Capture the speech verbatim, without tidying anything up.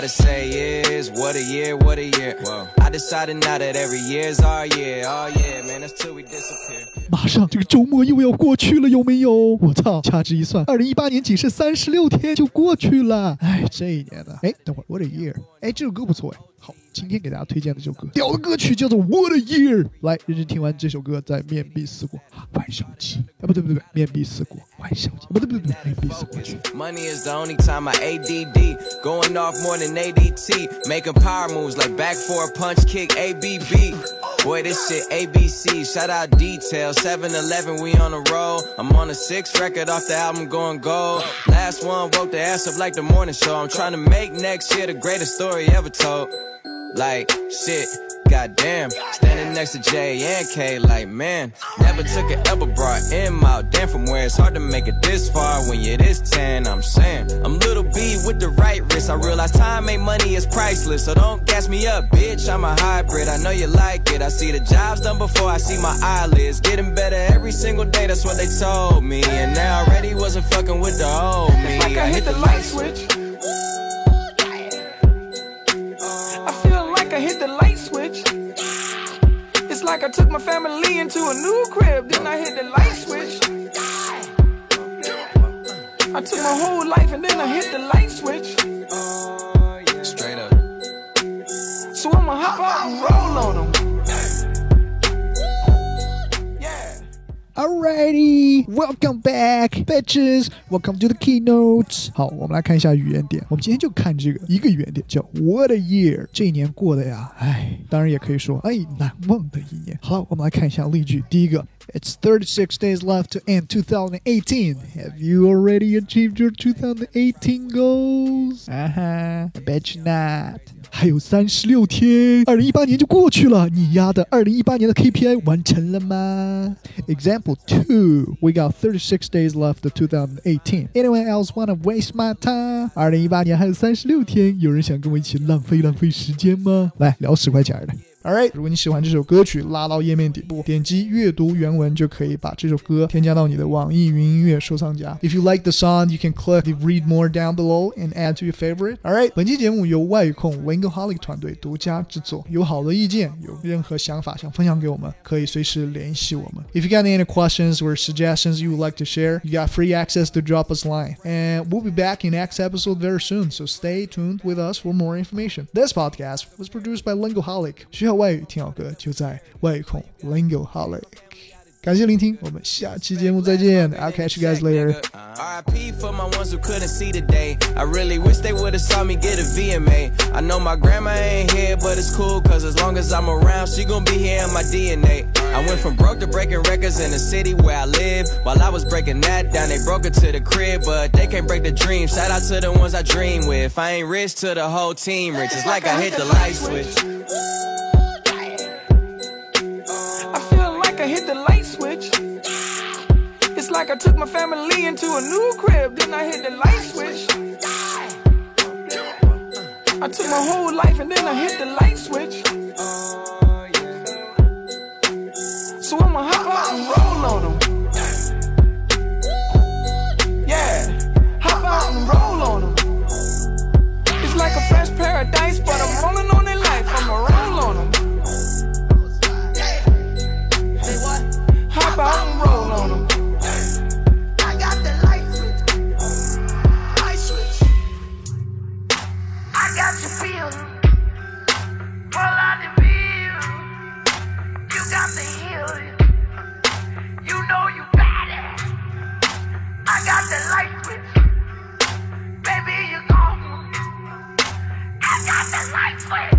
gotta say is, what a year, what a year. Whoa. I decided now that every year's our year. Oh yeah, man, that's till we disappear. 马上这个周末又要过去了，有没有？我操，掐指一算，二零一八年仅剩三十六天就过去了。哎，这一年呢？哎，等会儿 ，What a year！ 哎，这首歌不错哎。好，今天给大家推荐的这首歌，屌的歌曲叫做 What a Year。来，认真听完这首歌，再面壁思过。万象期，哎，不对不对不对，面壁思过，万象期，不对不对不对，面壁思过去。 Money is the only time I A D D, going off more than A D T, making power moves like back for a punch kick A B B. Boy, this shit A B C, shout out Detail, seven eleven, we on the roll. I'm on the sixth record off the album going gold. Last one woke the ass up like the morning show. I'm trying to make next year the greatest story ever told. Like, shit, goddamn, standing next to J and K like, man, never took an elbow, brought M out. Damn, from where it's hard to make it this far when you're this tan, I'm saying. I'm little B with the right wrist, I realize time ain't money, is priceless. So don't gas me up, bitch, I'm a hybrid, I know you like it. I see the jobs done before I see my eyelids. Getting better every single day, that's what they told me. And now I already wasn't fucking with the old me. It's like I hit the light switch. I hit the light switch. It's like I took my family into a new crib, then I hit the light switch. I took my whole life and then I hit the light switch. Straight up. So I'ma hop out and roll on them. Alrighty, welcome back, bitches. Welcome to the keynote. 好，我们来看一下语言点。我们今天就看这个一个语言点，叫 What a year。这一年过的呀，哎，当然也可以说，哎，难忘的一年。好，我们来看一下例句。第一个 ，It's thirty-six days left to end twenty eighteen. Have you already achieved your twenty eighteen goals? 啊哈 I bet you not. 还有三十六天，二零一八年就过去了。你丫的二零一八年的 K P I 完成了吗 ？Example two, we got thirty-six days left to twenty eighteen. Anyone else wanna waste my time? 二零一八年还有三十六天，有人想跟我一起浪费浪费时间吗？来聊十块钱的。Alright， 如果你喜欢这首歌曲，拉到页面底部，点击阅读原文就可以把这首歌添加到你的网易云音乐收藏夹。If you like the song, you can click the read more down below and add to your favorite. Alright， 本期节目由外控 Lingoholic 团队独家制作。有好的意见，有任何想法想分享给我们，可以随时联系我们。If you got any questions or suggestions you would like to share, you got free access to drop us a line. And we'll be back in next episode very soon, so stay tuned with us for more information. This podcast was produced by Lingoholic. 需要外语听好歌就在外控 Lingoholic。感谢聆听，我们下期节目再见。I'll catch you guys later. R I P for my ones who couldn't see today. I really wish they would've saw me get a V M A. I know my grandma ain't here, but it's cool, cause as long as I'm around, she gon' be here in my D N A. I went from broke to breaking records in the city where I live. While I was breaking that down, they broke it to the crib, but they can't break the dream. Shout out to the ones I dream with. I ain't rich to the whole team rich. It's like I hit the light switch. I hit the light switch. It's like I took my family into a new crib, then I hit the light switch. I took my whole life and then I hit the light switch. So I'ma hop out and roll on them. Yeah, hop out and roll on them. It's like a fresh paradise, but I'm rolling on their life. I'ma roll on them. Hop out and roll on them. I got the light switch. Light switch. I got you feeling. Pull out the wheel. You got the heel. You know you got it. I got the light switch. Baby, you gone. I got the light switch.